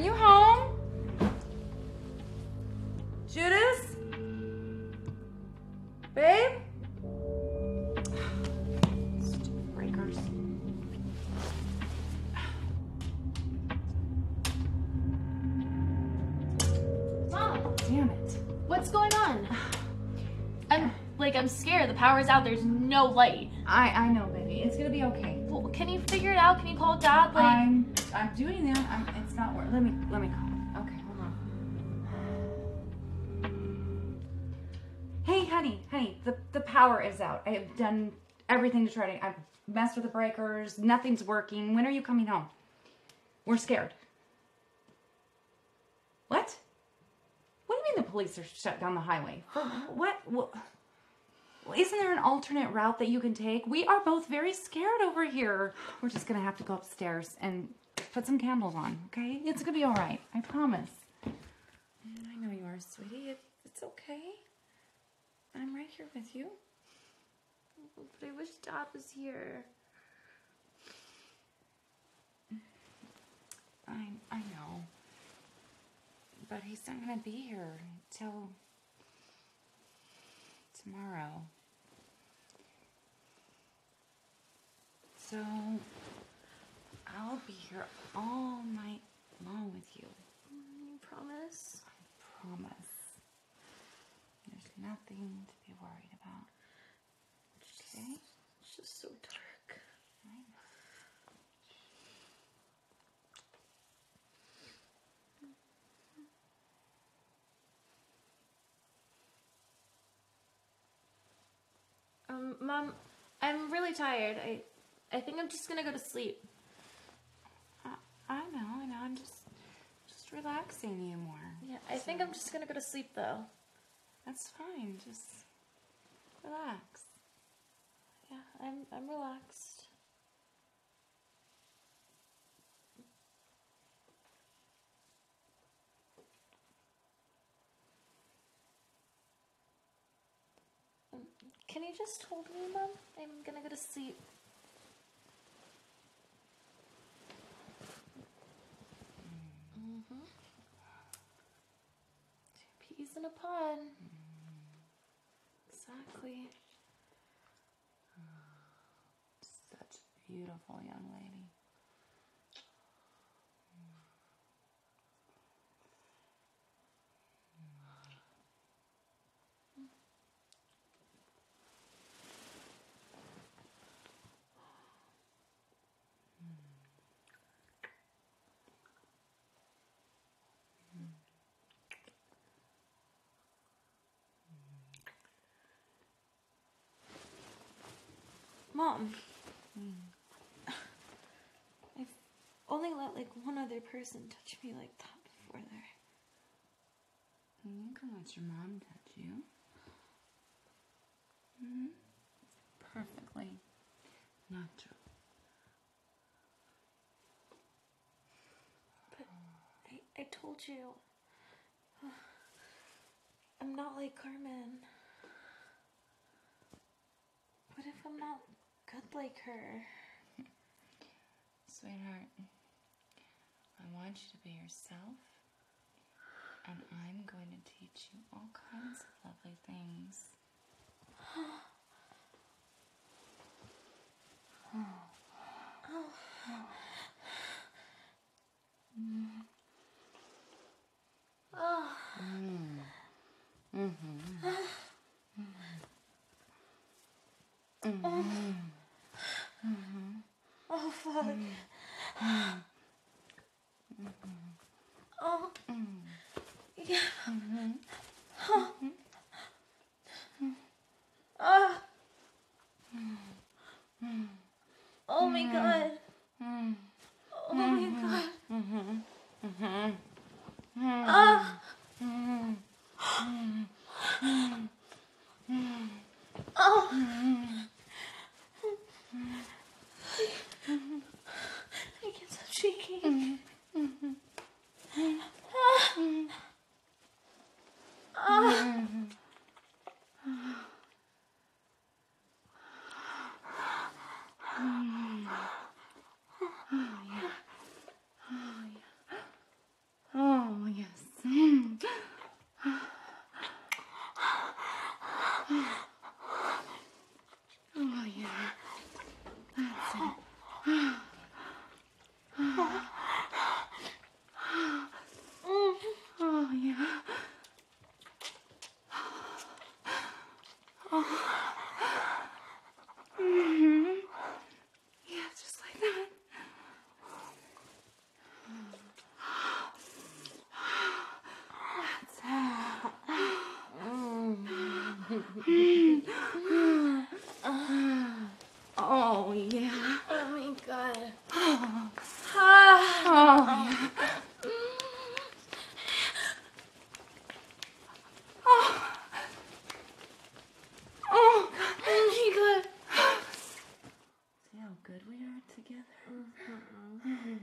you home? Judas? Babe? Stupid breakers. Mom, Damn it. what's going on? I'm scared. The power's out. There's no light. I know, baby. It's gonna be okay. Well, can you figure it out? Can you call Dad? I'm doing that. It's not working. Let me call him. Okay, hold on. Hey, honey, the power is out. I have done everything to try to. I've messed with the breakers. Nothing's working. When are you coming home? We're scared. What? What do you mean the police are shut down the highway? For what? Isn't there an alternate route that you can take? We are both very scared over here. We're just gonna have to go upstairs and put some candles on, okay? It's gonna be all right. I promise. I know you are, sweetie. It's okay. I'm right here with you. But I wish Dad was here. I know. But he's not gonna be here till tomorrow. So I'll be here all night long with you. You promise? I promise. There's nothing to be worried about. Okay? It's just so dark. Mom, I'm really tired. I think I'm just gonna go to sleep. I know. I'm just relaxing you more. Yeah, I think I'm just gonna go to sleep though. That's fine. Just relax. Yeah, I'm relaxed. Can you just hold me, Mom? I'm gonna go to sleep. Two peas in a pod. Exactly. Such a beautiful young lady. Mom, I've only let one other person touch me like that before there. You can let your mom touch you. Mm-hmm. Perfectly natural. But I told you, I'm not like Carmen. What if I'm not good like her? Sweetheart, I want you to be yourself, and I'm going to teach you all kinds of lovely things. Oh, fuck. Oh. Yeah. Oh. Oh my god. Oh my god. Oh. I can't stop shaking. good we are together.